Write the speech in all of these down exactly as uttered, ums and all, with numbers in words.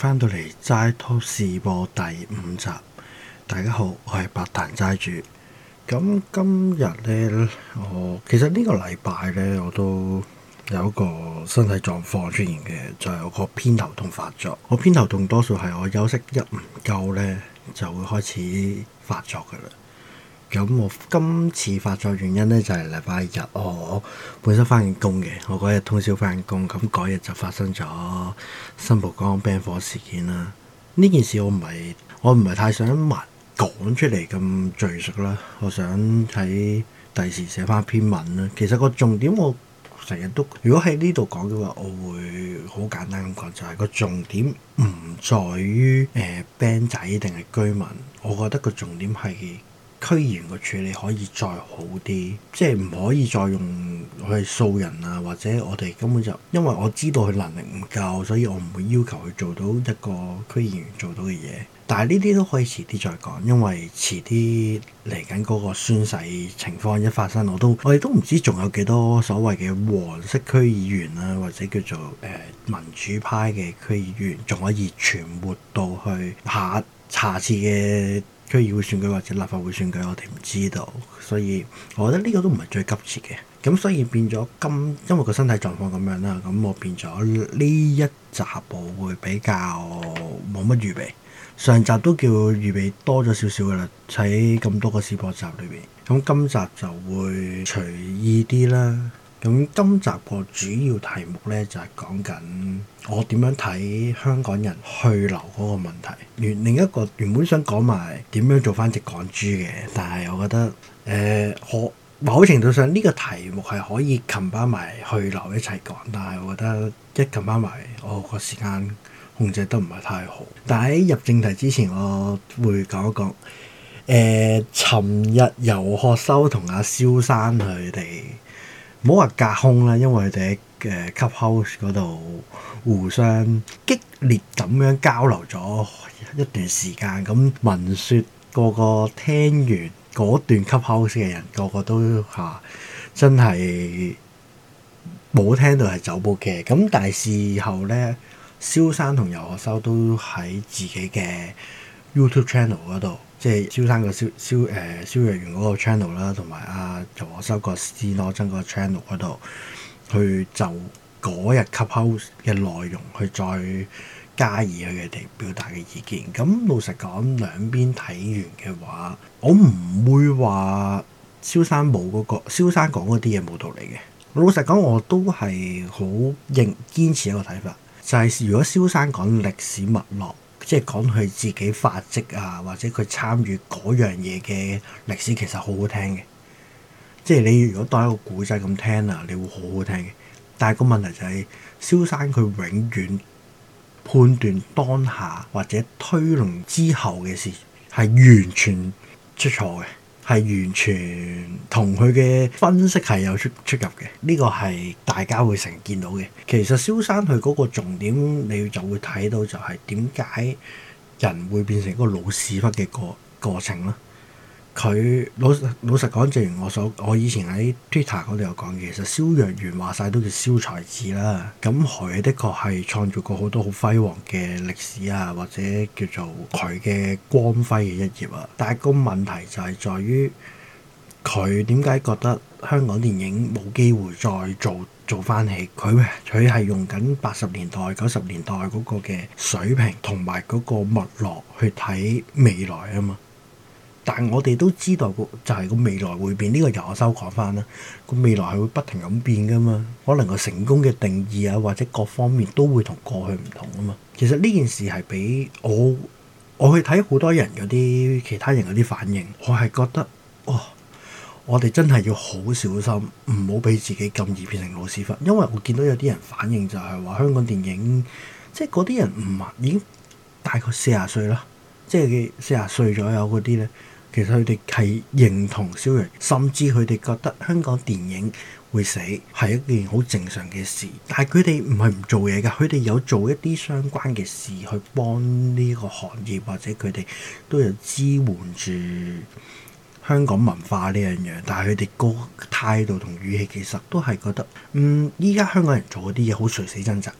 翻到嚟齋拖試播第五集，大家好，我係百彈齋主。咁今日呢，我其實呢個禮拜呢，我都有一個身體狀況出現嘅，就係、是、我個偏頭痛發作。我偏頭痛多數係我休息一唔夠呢，就會開始發作噶啦。咁我今次發作原因呢，就係禮拜日我本身翻緊工嘅，我嗰日通宵翻緊工，咁嗰日就發生咗新蒲崗 band 火事件啦。呢件事我唔係我唔係太想密講出嚟咁敘述啦，我想喺第時寫翻篇文啦。其實個重點我成日都，如果喺呢度講嘅話，我會好簡單咁講，就係、是、個重點唔在於誒、呃、band 仔定係居民，我覺得個重點係區議員個處理可以再好啲，即係唔可以再用去掃人啊，或者我哋根本就因為我知道佢能力唔夠，所以我唔會要求佢做到一個區議員做到嘅嘢。但係呢啲都可以遲啲再講，因為遲啲嚟緊嗰個宣誓情況一發生，我都我哋都唔知仲有幾多所謂嘅黃色區議員啊，或者叫做誒、呃、民主派嘅區議員，仲可以存活到去下下次嘅區議會選舉或者立法會選舉，我哋唔知道，所以我覺得呢個都唔係最急切嘅。咁所以變咗今因為個身體狀況咁樣啦，咁我變咗呢一集我會比較冇乜預備。上集都叫預備多咗少少噶啦，喺咁多個試播集裏邊，咁今集就會隨意啲啦。咁今集個主要題目呢，就係講緊我點樣睇香港人去留嗰個問題。原另一個原本想講埋點樣做翻隻港豬嘅，但係我覺得誒，我、呃、某程度上呢個題目係可以冚翻埋去留一齊講，但係我覺得一冚翻埋我個時間控制得唔係太好。但喺入正題之前，我會講一講誒，尋、呃、日游學修同阿蕭生佢哋。唔好話隔空啦，因為佢哋喺誒 Clubhouse 嗰度互相激烈咁樣交流咗一段時間。咁聞說個個聽完嗰段 Clubhouse 嘅人，個個都嚇、啊、真係冇聽到係走步嘅。咁但係事後咧，蕭生同游學修都喺自己嘅 YouTube channel 嗰度。即係蕭生個蕭蕭誒蕭若元嗰個 channel 啦，同埋阿游學修個斯諾真嗰個 channel 嗰度，去就嗰日 Clubhouse 嘅內容去再加以佢哋表達嘅意見。咁老實講，兩邊睇完嘅話，我唔會話蕭生冇嗰個蕭生講嗰啲嘢冇道理嘅。老實講，我都係好認堅持一個睇法，就係、是、如果蕭生講歷史脈絡。即係講佢自己發跡啊，或者佢參與嗰樣嘢嘅歷史，其實好好聽嘅。即係你如果當一個古仔咁聽啊，你會好好聽嘅。但係個問題就係、是，蕭生佢永遠判斷當下或者推論之後嘅事係完全出錯嘅，係完全同佢嘅分析係有出出入嘅。呢、這個係大家會成日見到嘅。其實蕭生佢嗰個重點，你就會睇到就係點解人會變成一個老屎忽嘅過過程啦。佢老老實講，正如我所我以前喺 Twitter 嗰度有講嘅，其實蕭若元話晒都叫蕭才子啦。咁佢的確係創造過好多好輝煌嘅歷史啊，或者叫做佢嘅光輝嘅一頁啊。但係個問題就係在於佢點解覺得香港電影冇機會再做做翻起？佢佢係用緊八十年代、九十年代嗰個嘅水平同埋嗰個脈絡去睇未來啊嘛。但我哋都知道個就係個未來會變，呢、這個由我收講翻啦。個未來係會不停咁變噶嘛，可能個成功嘅定義啊，或者各方面都會同過去唔同啊嘛。其實呢件事係俾我我去睇好多人嗰啲其他人嗰啲反應，我係覺得哇、哦，我哋真係要好小心，唔好俾自己咁易變成老屎忽。因為我見到有啲人反應就係話香港電影，即係嗰啲人唔係已經大概四十歲啦，即係四十歲左右嗰啲咧。其實佢哋係認同蕭若元，甚至佢哋覺得香港電影會死係一件好正常嘅事。但係佢哋唔係唔做嘢㗎，佢哋有做一啲相關嘅事去幫呢個行業，或者佢哋都有支援住香港文化呢樣嘢。但係佢哋個態度同語氣其實都係覺得，嗯，依家香港人做嗰啲嘢好垂死掙扎。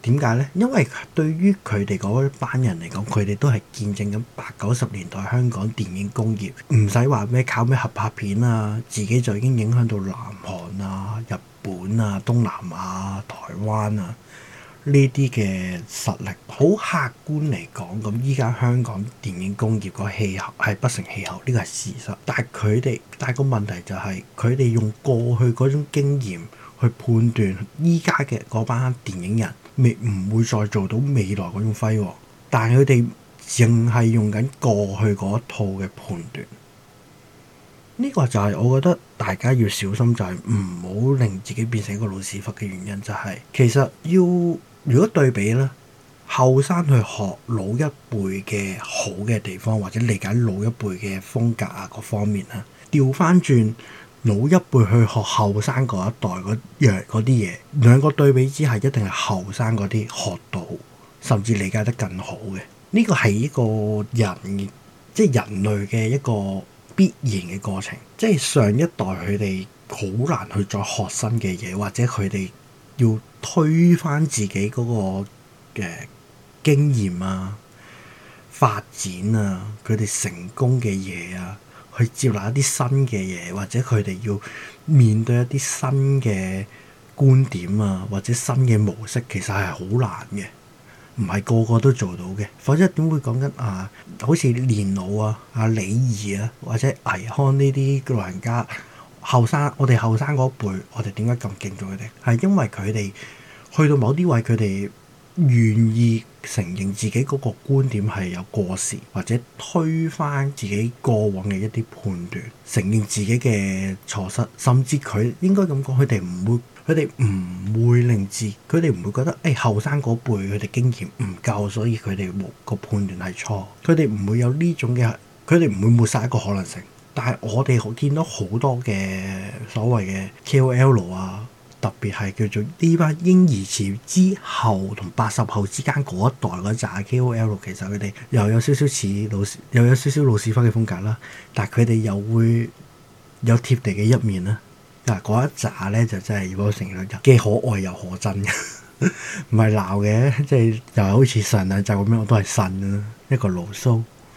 點解呢？因為對於佢哋嗰班人嚟講，佢哋都係見證緊八九十年代香港電影工業，唔使話咩靠咩合拍片啊，自己就已經影響到南韓啊、日本啊、東南亞、台灣啊呢啲嘅實力。好客觀嚟講，咁依家香港電影工業個氣候係不成氣候，呢個係事實。但係佢哋，但係個問題就係佢哋用過去嗰種經驗去判斷依家嘅嗰班電影人。未唔會再做到未來嗰種輝煌，但係佢哋淨係用緊過去嗰一套嘅判斷。呢個就係我覺得大家要小心，就係唔好令自己變成一個老屎忽嘅原因。就係其實要如果對比咧，後生去學老一輩嘅好嘅地方，或者理解老一輩嘅風格啊各方面啊，調翻轉。老一輩去學後生嗰一代嗰樣嗰啲嘢，兩個對比之下，一定係後生嗰啲學到，甚至理解得更好嘅。呢個係一個人，即係人類嘅一個必然嘅過程。即係上一代佢哋好難去再學新嘅嘢，或者佢哋要推翻自己嗰個嘅經驗啊、發展啊、佢哋成功嘅嘢啊。去接納一啲新嘅嘢，或者佢哋要面對一啲新嘅觀點啊，或者新嘅模式，其實係好難嘅，唔係個個都做到嘅。否則點會講緊啊？好似年老啊、阿李儀啊，或者倪匡呢啲老人家，後生我哋後生嗰輩，我哋點解咁敬重佢哋？係因為佢哋去到某啲位，佢哋願意承認自己嗰個觀點係有過時，或者推翻自己過往嘅一啲判斷，承認自己嘅錯失，甚至佢應該咁講，佢哋唔會，佢哋唔會令自，佢哋唔會覺得誒後生嗰輩佢哋經驗唔夠，所以佢哋冇個判斷係錯，佢哋唔會有呢種嘅，佢哋唔會抹殺一個可能性。但係我哋見到好多嘅所謂嘅 K O L 啊。特別係叫做呢班嬰兒潮之後同八十後之間嗰一代嗰紮 K O L， 其實佢哋又有少少似老屎，又有少少老屎忽嘅風格啦。但係佢哋又會有貼地嘅一面啦。嗱，嗰一紮咧就真係要我承認，既可愛又可真嘅，唔係鬧嘅，即係又好似上兩集咁樣，我都係呻啦，一個牢騷。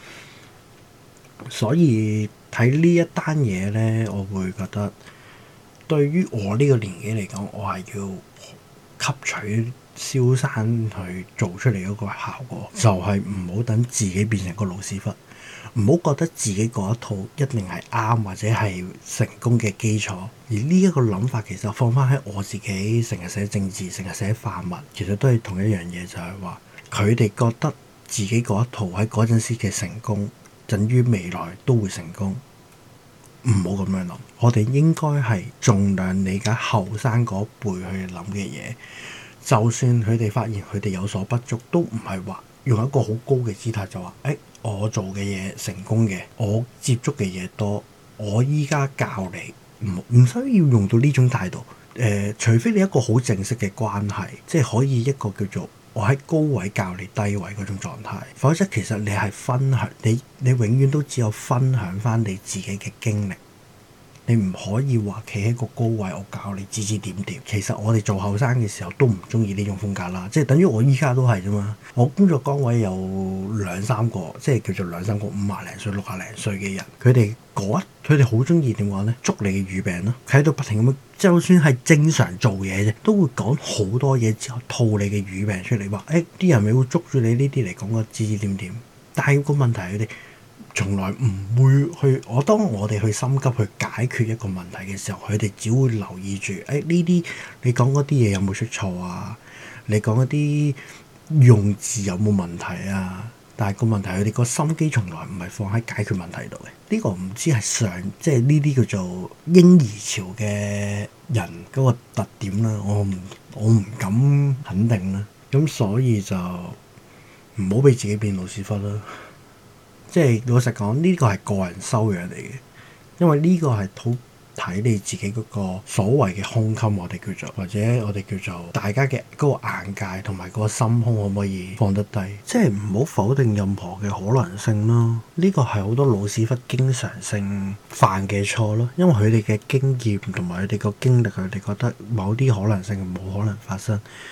所以睇呢一單嘢咧，我會覺得。對於我呢個年紀嚟講，我係要吸取蕭生去做出嚟嗰個效果，就係唔好等自己變成個老屎忽，唔好覺得自己嗰一套一定係啱或者係成功嘅基礎。而呢一個諗法其實放翻喺我自己，成日寫政治，成日寫泛民，其實都係同一樣嘢，就係話佢哋覺得自己嗰一套喺嗰陣時嘅成功，等於未來都會成功。唔好咁樣諗，我哋應該係盡量理解後生嗰輩去諗嘅嘢。就算佢哋發現佢哋有所不足，都唔係話用一個好高嘅姿態就話，誒、欸，我做嘅嘢成功嘅，我接觸嘅嘢多，我依家教你，唔唔需要用到呢種態度。誒、呃，除非你一個好正式嘅關係，即係可以一個叫做我喺高位教你低位嗰種狀態，否則其實你係分享，你你永遠都只有分享翻你自己嘅經歷，你唔可以話企喺個高位，我教你指指點點。其實我哋做後生嘅時候都唔中意呢種風格啦，即係等於我依家都係啫嘛。我工作崗位有兩三個，即係叫做兩三個五廿零歲、六廿零歲嘅人，佢哋嗰佢哋好中意點講咧？捉你嘅語病咯，喺度不停咁樣，就算係正常做嘢啫，都會講好多嘢之後套你嘅語病出嚟，話誒啲人咪會捉住你呢啲嚟講個指指點點。但係個問題佢哋從來唔會去，我當我哋去心急去解決一個問題嘅時候，佢哋只會留意住誒呢啲你講嗰啲嘢有冇出錯啊？你講嗰啲用字有冇問題啊？但係個問題，佢哋個心機從來唔係放喺解決問題度嘅。呢個唔知係上即係呢啲叫做嬰兒潮嘅人嗰個特點啦。我唔我唔敢肯定啦。咁所以就唔好俾自己變老屎忽啦。即係老實講，呢個係個人修養嚟嘅，因為呢個係好睇你自己嗰個所謂嘅胸襟，我哋叫做或者我哋叫做大家嘅嗰個眼界同埋嗰個心胸可唔可以放得低？即係唔好否定任何嘅可能性咯。呢個係好多老屎忽經常性犯嘅錯咯，因為佢哋嘅經驗同埋佢哋個經歷，佢哋覺得某啲可能性冇可能發生。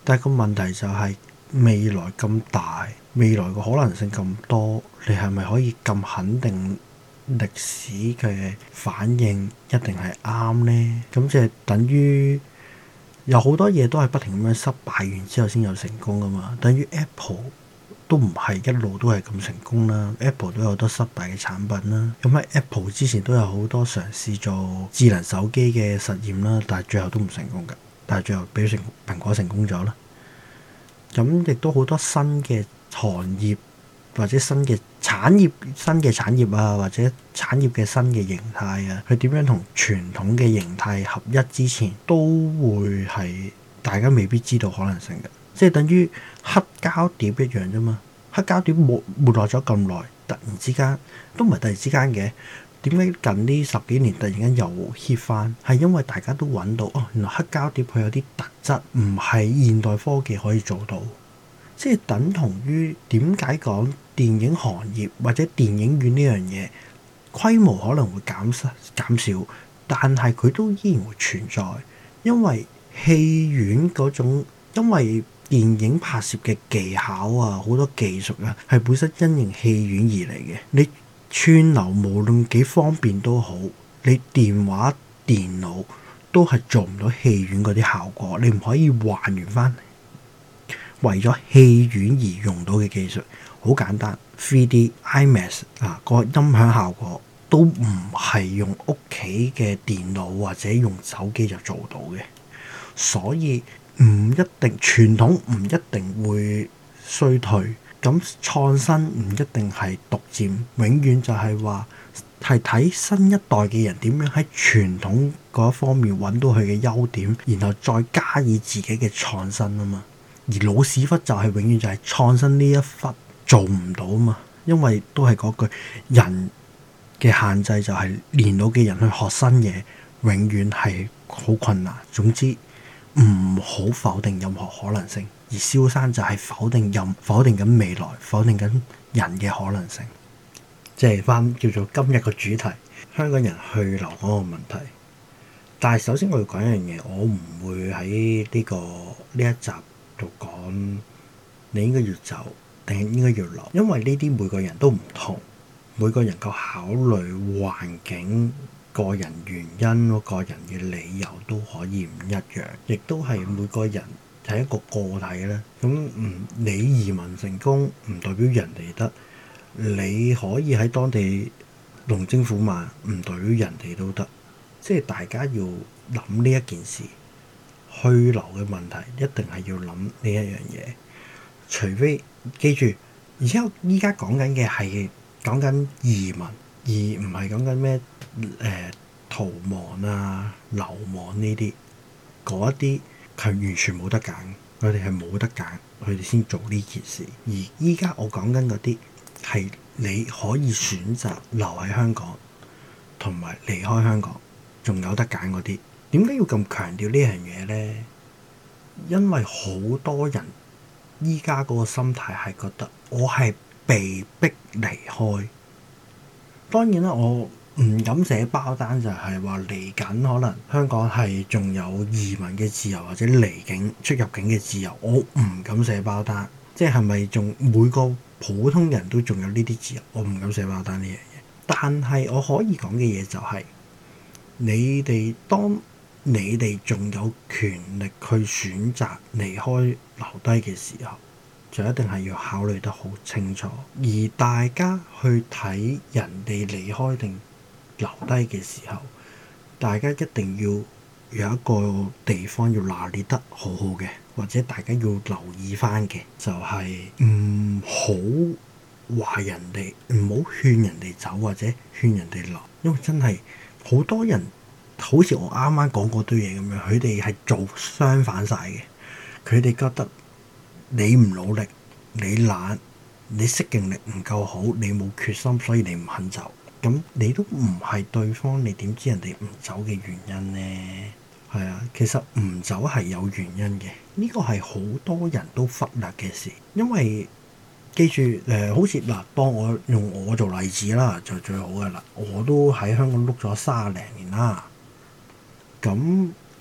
但係個問題就係未來咁大，未來個可能性咁多，你係咪可以咁肯定歷史嘅反應一定係啱呢？咁即係等於有好多嘢都係不停咁樣失敗完之後先有成功噶嘛。等於 Apple 都唔係一路都係咁成功啦 ，Apple 都有好多失敗嘅產品啦。咁喺 Apple 之前都有好多嘗試做智能手機嘅實驗啦，但係最後都唔成功㗎。但係最後俾成蘋果成功咗啦。咁亦都好多新嘅行業或者新嘅產業、新嘅產業啊，或者產業嘅新嘅形態啊，佢點樣同傳統嘅形態合一之前，都會係大家未必知道可能性嘅。即係等於黑膠碟一樣啫嘛。黑膠碟沒沒落咗咁耐，突然之間都唔係突然之間嘅。點解近呢十幾年突然間又 hit 翻？係因為大家都揾到哦，原來黑膠碟佢有啲特質，唔係現代科技可以做到。即係等同於點解講電影行業或者電影院呢樣嘢規模可能會減少減少，但係佢都依然會存在，因為戲院嗰種因為電影拍攝嘅技巧啊，好多技術啊，係本身因應戲院而嚟嘅。你串流無論幾方便都好，你電話、電腦都係做唔到戲院嗰啲效果。你唔可以還原翻為咗戲院而用到嘅技術。好簡單 ，three D、IMAX 啊，個音響效果都唔係用屋企嘅電腦或者用手機就做到嘅，所以唔一定傳統唔一定會衰退，咁創新唔一定係獨佔，永遠就係話係睇新一代嘅人點樣喺傳統嗰方面揾到佢嘅優點，然後再加以自己嘅創新啊嘛。而老屎忽就係永遠就係創新呢一忽做唔到啊嘛，因為都係嗰句人嘅限制就係年老嘅人去學新嘢，永遠係好困難。總之唔好否定任何可能性，而蕭生就係否定任否定緊未來，否定緊人嘅可能性。即係翻叫做今日個主題，香港人去留嗰個問題。但係首先我要講一樣嘢，我唔會喺呢個呢一集度講你應該要走定係應該要留，因為呢啲每個人都唔同，每個人個考慮環境、個人原因、個人嘅理由都可以唔一樣，亦都係每個人係一個個體咧。咁唔你移民成功唔代表人哋得，你可以喺當地龍精虎猛唔代表人哋都得。即係大家要諗呢一件事，去留嘅問題一定係要諗呢一樣嘢。除非記住，而且我依家講緊嘅係講緊移民，而唔係講緊咩誒逃亡啊、流亡呢啲。嗰一啲係完全冇得揀，佢哋係冇得揀，佢哋先做呢件事。而依家我講緊嗰啲係你可以選擇留喺香港，同埋離開香港，仲有得揀嗰啲。點解要咁強調呢樣嘢咧？因為好多人依家嗰個心態係覺得我係被逼離開。當然啦，我唔敢寫包單，就係話嚟緊可能香港係仲有移民嘅自由或者離境出入境嘅自由，我唔敢寫包單。即係係咪仲每個普通人都仲有呢啲自由？我唔敢寫包單呢樣嘢。但係我可以講嘅嘢就係、是，你哋當你哋仲有權力去選擇離開留低嘅時候，就一定係要考慮得好清楚。而大家去睇人哋離開定留低嘅時候，大家一定要有一個地方要拿捏得好好嘅，或者大家要留意翻嘅，就係唔好話人哋，唔好勸人哋走或者勸人哋留，因為真係好多人。好似我啱啱講嗰堆嘢咁樣，佢哋係做相反晒嘅。佢哋覺得你唔努力，你懶，你適應力唔夠好，你冇決心，所以你唔肯走。咁你都唔係對方，你點知人哋唔走嘅原因呢？係啊，其實唔走係有原因嘅。呢個係好多人都忽略嘅事，因為記住誒、呃，好似嗱，當我用我做例子啦，就最好嘅啦。我都喺香港碌咗三十零年啦。咁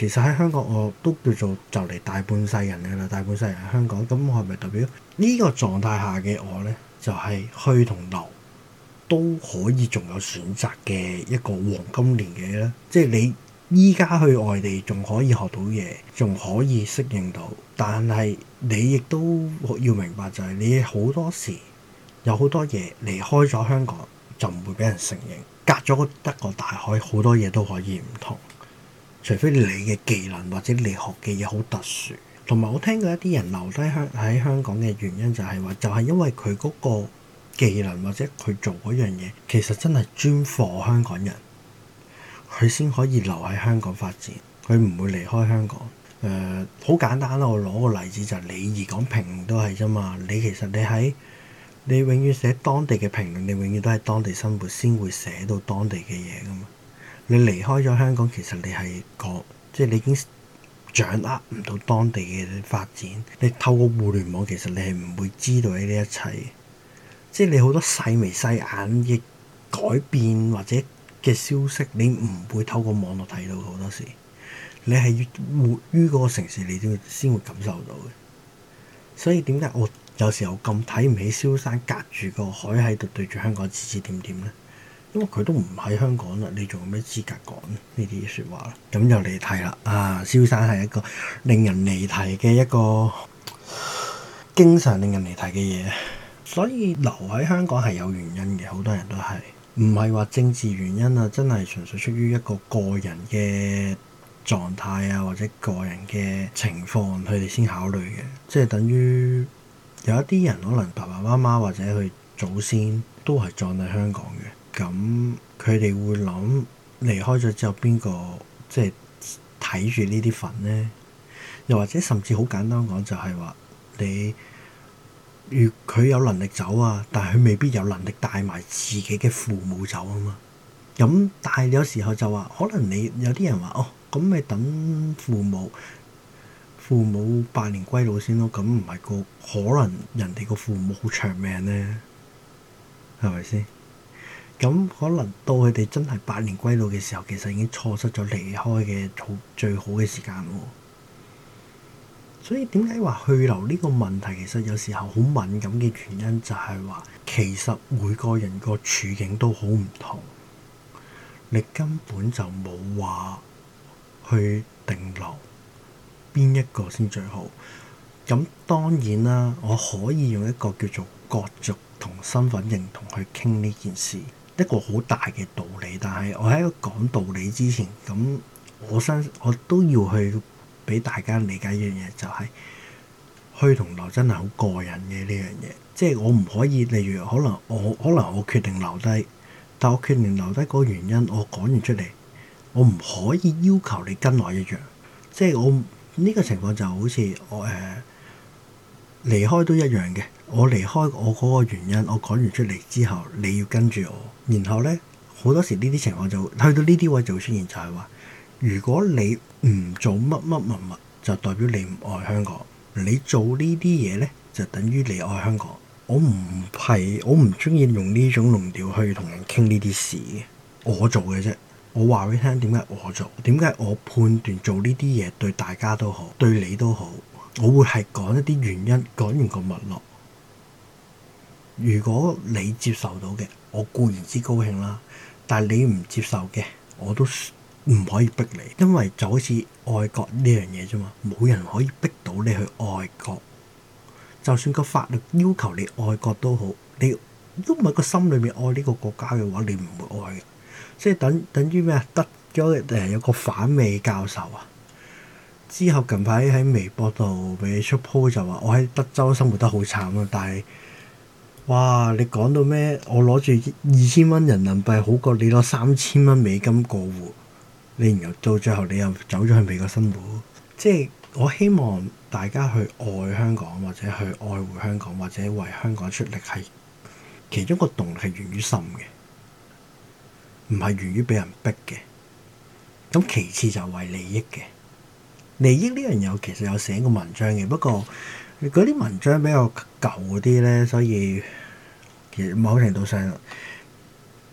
其實喺香港我都叫做就嚟大半世人嘅啦，大半世人喺香港，咁我係咪代表呢個狀態下嘅我呢，就係、是、去同留都可以仲有選擇嘅一個黃金年紀咧？即係你依家去外地仲可以學到嘢，仲可以適應到，但係你亦都要明白就係你好多時有好多嘢離開咗香港就唔會俾人承認，隔咗一個大海，好多嘢都可以唔同。除非你嘅技能或者你學嘅嘢好特殊，同埋我聽過一啲人留低香喺香港嘅原因就係話，就係因為佢嗰個技能或者佢做嗰樣嘢，其實真係專貨香港人，佢先可以留喺香港發展，佢唔會離開香港。誒、呃，好簡單啦，我攞個例子就係李怡講評論都係啫嘛。你其實你喺你永遠寫當地嘅評論，你永遠都係當地生活先會寫到當地嘅嘢噶嘛。你離開咗香港，其實你係個即係你已經掌握唔到當地嘅發展。你透過互聯網，其實你係唔會知道呢啲一切。即係你好多細眉細眼嘅改變或者嘅消息，你唔會透過網絡睇到好多時。你係要活於嗰個城市，你先先會感受到嘅。所以點解我有時候咁睇唔起蕭山，隔住個海喺度對住香港指指點點咧？因為佢都唔喺香港啦，你仲有咩資格講呢啲説話啦？咁又離題啦！啊，蕭山係一個令人離題嘅一個經常令人離題嘅嘢，所以留喺香港係有原因嘅，好多人都係唔係話政治原因啊，真係純粹出於一個個人嘅狀態啊，或者個人嘅情況，佢哋先考慮嘅。即係等於有一啲人可能爸爸媽媽或者佢祖先都係葬喺香港嘅。咁佢哋會諗離開咗之後邊個即係睇住呢啲墳呢？又或者甚至好簡單講就係話你，如佢有能力走啊，但係佢未必有能力帶埋自己嘅父母走啊嘛。咁但係有時候就話可能你有啲人話哦，咁咪等父母父母百年歸老先咯。咁唔係個可能人哋個父母好長命呢？係咪先？咁可能到佢哋真係百年歸老嘅時候，其實已經錯失咗離開嘅好最好嘅時間喎。所以點解話去留呢個問題，其實有時候好敏感嘅原因就係話，其實每個人個處境都好唔同，你根本就冇話去定留邊一個先最好。咁當然啦，我可以用一個叫做國族同身份認同去傾呢件事。一個好大嘅道理，但係我喺講道理之前，咁我相信我都要去俾大家理解一樣嘢，就係去同留真係好個人嘅呢樣嘢。即係我唔可以，例如可能我可能我決定留低，但我決定留低嗰個原因，我講完出嚟，我唔可以要求你跟我一樣。即係我呢個情況就好似我誒離開都一樣嘅。我離開我嗰個原因，我講完出嚟之後，你要跟住我。然後咧，好多時呢啲情況就去到呢啲位就會出現，就係話，如果你唔做乜乜乜乜，就代表你唔愛香港；你做呢啲嘢咧，就等於你愛香港。我唔係，我唔中意用呢種論調去同人傾呢啲事嘅。我做嘅啫，我話俾你聽點解我做，點解我判斷做呢啲嘢對大家都好，對你都好。我會係講一啲原因，講完個脈絡。如果你接受到嘅，我固然之高興啦。但係你唔接受嘅，我都唔可以逼你，因為就好似愛國呢樣嘢啫嘛，冇人可以逼到你去愛國。就算個法律要求你愛國都好，你都唔係個心裏面愛呢個國家嘅話，你唔會愛嘅。即係等等於咩啊？得咗誒有個反美教授啊，之後近排喺微博度俾出 po 就話我喺德州生活得好慘啊，但係。哇！你講到咩？我攞住二千蚊人民幣好過你攞三千蚊美金過活，你然後到最後你又走咗去美國生活。即係我希望大家去愛香港，或者去愛護香港，或者為香港出力，係其中個動力係源於心嘅，唔係源於俾人逼嘅。咁其次就係為利益嘅。利益呢樣嘢其實有寫過文章嘅，不過嗰啲文章比較舊啲咧，所以其實某程度上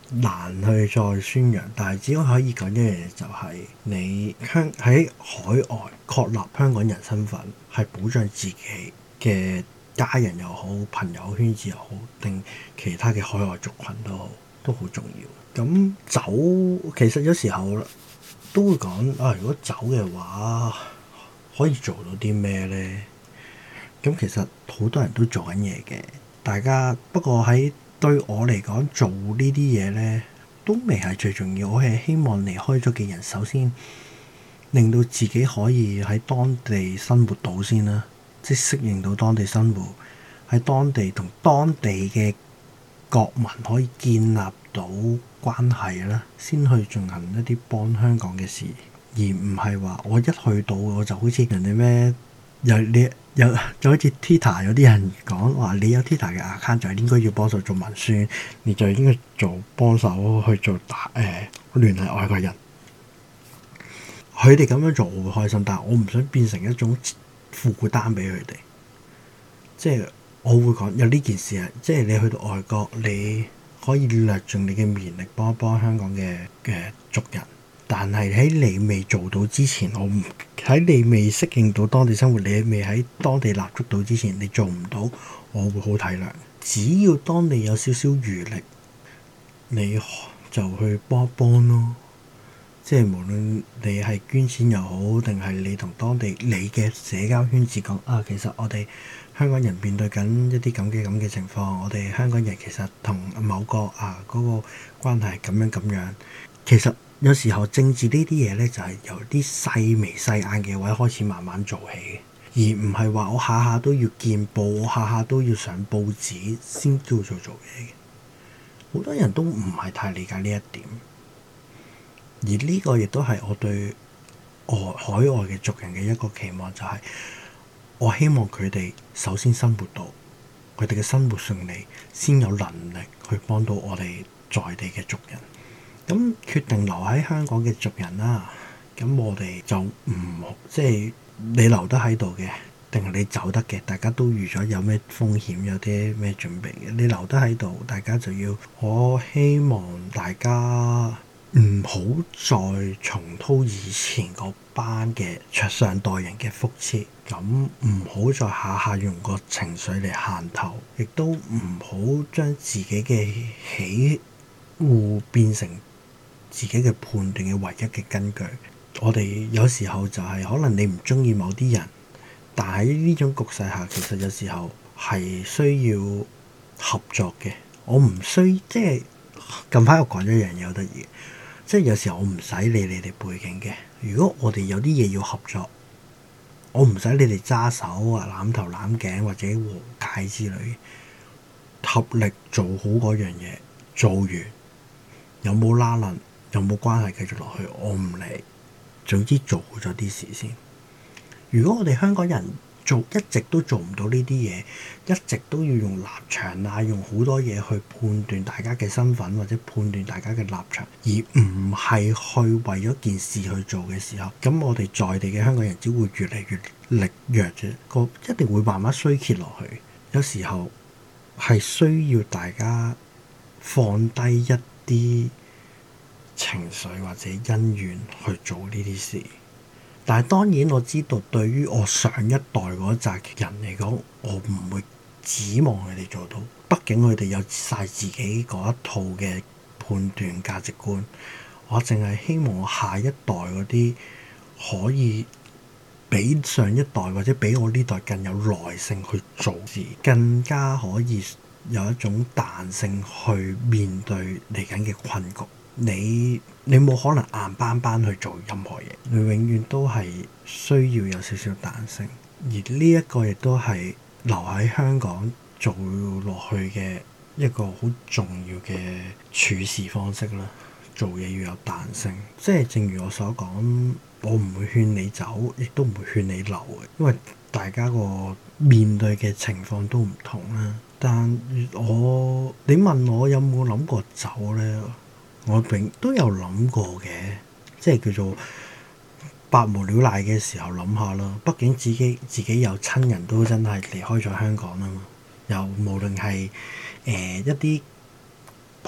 難去再宣揚，但係只可以講一樣嘢，就係你香喺海外確立香港人身份，係保障自己嘅家人又好、朋友圈子又好，定其他嘅海外族群都好，都好重要。咁走其實有時候都會講啊，如果走嘅話，可以做到啲咩呢？咁其實好多人都做緊嘢嘅，大家不過喺對我嚟講，做呢啲嘢呢都未係最重要。我係希望離開咗嘅人，首先令到自己可以喺當地生活到先啦，即係適應到當地生活，喺當地同當地嘅國民可以建立到關係啦，先去進行一啲幫香港嘅事，而唔係話我一去到我就好似人哋咩有你。有就好似 Twitter 有啲人講話，你有 Twitter 嘅 account 就係應該要幫手做文宣，你就應該做幫手去做打誒聯繫外國人。佢哋咁樣做我會開心，但係我唔想變成一種負擔俾佢哋。即係我會講有呢件事啊，即係你去到外國，你可以略盡你嘅綿力幫一幫香港嘅嘅族人。但係喺你未做到之前，我唔喺你未適應到當地生活，你未喺當地立足到之前，你做唔到，我會好體諒。只要當你有少少餘力，你就去幫一幫咯。即係無論你係捐錢又好，定係你同當地你嘅社交圈子講啊，其實我哋香港人面對緊一啲咁嘅咁嘅情況，我哋香港人其實同某個啊嗰個關係咁樣咁樣，其實。有時候政治呢啲嘢咧，就係由啲細微細眼嘅位開始慢慢做起，而唔係話我下下都要見報，我下下都要上報紙先叫做做嘢嘅。好多人都唔係太理解呢一點，而呢個亦都係我對外海外嘅族人嘅一個期望，就係我希望佢哋首先生活到佢哋嘅生活順利，先有能力去幫到我哋在地嘅族人。咁決定留喺香港嘅族人啦，咁我哋就唔即係你留得喺度嘅，定係你走得嘅，大家都預咗有咩風險，有啲咩準備嘅。你留得喺度，大家就要，我希望大家唔好再重蹈以前嗰班嘅上代人嘅覆轍，咁唔好再下下用個情緒嚟限頭，亦都唔好將自己嘅喜惡變成自己嘅判斷嘅唯一嘅根據。我哋有時候就係可能你唔中意某啲人，但喺呢種局勢下，其實有時候係需要合作嘅。我唔需即係近排我講咗一樣嘢好得意，即係有時候我唔使理你哋背景嘅。如果我哋有啲嘢要合作，我唔使你哋揸手啊、攬頭攬頸或者和解之類，合力做好嗰樣嘢，做完有冇拉楞？有冇關係繼續落去？我唔理，總之做好咗啲事先。如果我哋香港人做一直都做唔到呢啲嘢，一直都要用立場啊，用好多嘢去判斷大家嘅身份或者判斷大家嘅立場，而唔係去為咗件事去做嘅時候，咁我哋在地嘅香港人只會越嚟越力弱啫，個一定會慢慢衰竭落去。有時候係需要大家放低一啲情緒或者恩怨去做呢啲事，但係當然我知道對於我上一代嗰紮人嚟講，我唔會指望佢哋做到，畢竟佢哋有晒自己嗰一套嘅判斷價值觀。我淨係希望我下一代嗰啲可以比上一代或者比我呢代更有耐性去做事，更加可以有一種彈性去面對嚟緊嘅困局。你你冇可能硬邦邦去做任何嘢，你永遠都係需要有少少彈性。而呢一個亦都係留喺香港做落去嘅一個好重要嘅處事方式啦。做嘢要有彈性，即係正如我所講，我唔會勸你走，亦都唔會勸你留嘅，因為大家個面對嘅情況都唔同啦。但我你問我有冇諗過走呢？我並都有諗過嘅，即係叫做百無聊賴嘅時候諗下啦。畢竟自己自己有親人都真係離開咗香港啦嘛，又無論係誒、呃、一啲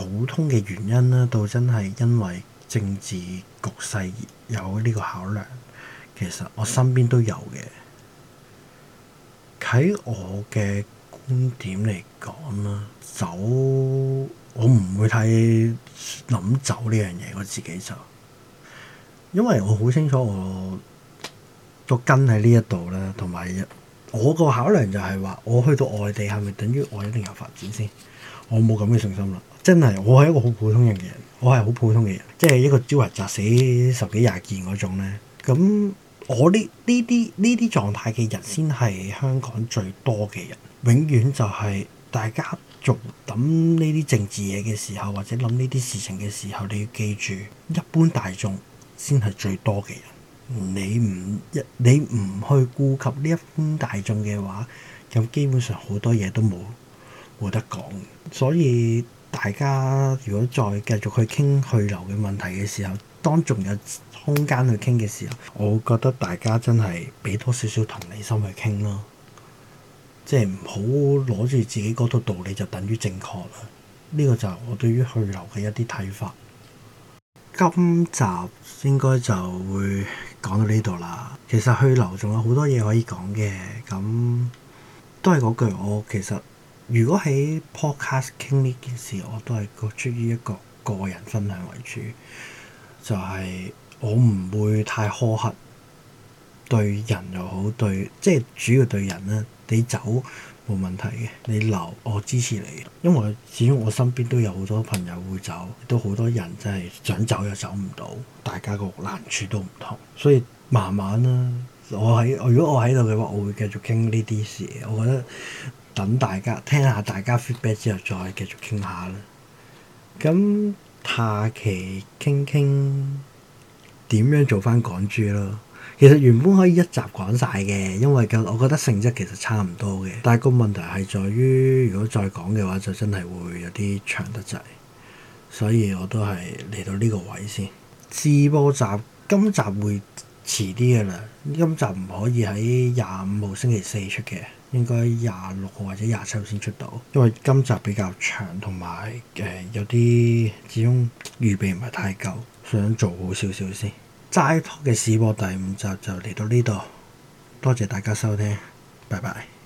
普通嘅原因啦，到真係因為政治局勢有呢個考量，其實我身邊都有嘅。喺我嘅觀點嚟講啦，走我唔會太諗走呢樣嘢，我自己就因為我好清楚我個根喺呢一度啦，同埋我個考量就係話，我去到外地係咪等於我一定有發展先？我冇咁嘅信心啦，真係我係一個好普通人嘅人，我係好普通嘅人，即係一個朝日砸死十幾廿件嗰種咧。咁我呢呢啲呢啲狀態嘅人先係香港最多嘅人，永遠就係大家做諗呢啲政治嘢嘅時候，或者諗呢啲事情嘅時候，你要記住，一般大眾先係最多嘅人。你唔一你唔去顧及呢一般大眾嘅話，咁基本上好多嘢都冇冇得講。所以大家如果再繼續去傾去留嘅問題嘅時候，當仲有空間去傾嘅時候，我覺得大家真係俾多少少同理心去傾咯，即係唔好攞住自己嗰套道理就等於正確啦。呢個就係我對於去留嘅一啲睇法。今集應該就會講到呢度啦。其實去留仲有好多嘢可以講嘅，咁都係嗰句，我其實如果喺 podcast 傾呢件事，我都係個出於一個個人分享為主，就係、是、我唔會太苛刻對人又好，對即係主要對人咧，你走冇問題嘅，你留我支持你，因為始終我身邊都有好多朋友會走，都好多人真係想走又走唔到，大家個難處都唔同，所以慢慢啦。我喺如果我喺度嘅話，我會繼續傾呢啲事。我覺得等大家聽下大家 feedback 之後，再繼續傾下啦。咁下期傾傾點樣做翻港豬咯。其實原本可以一集講晒嘅，因為我覺得性質其實差唔多嘅，但係個問題係在於，如果再講嘅話，就真係會有啲長得滯，所以我都係嚟到呢個位先。試播集今集會遲啲嘅啦，今集唔可以喺廿五號星期四出嘅，應該廿六號或者廿七號先出到，因為今集比較長，同埋誒有啲始終預備唔係太夠，想做好少少先。齋 Talk 嘅試播第五集就嚟到呢度，多謝大家收聽，拜拜。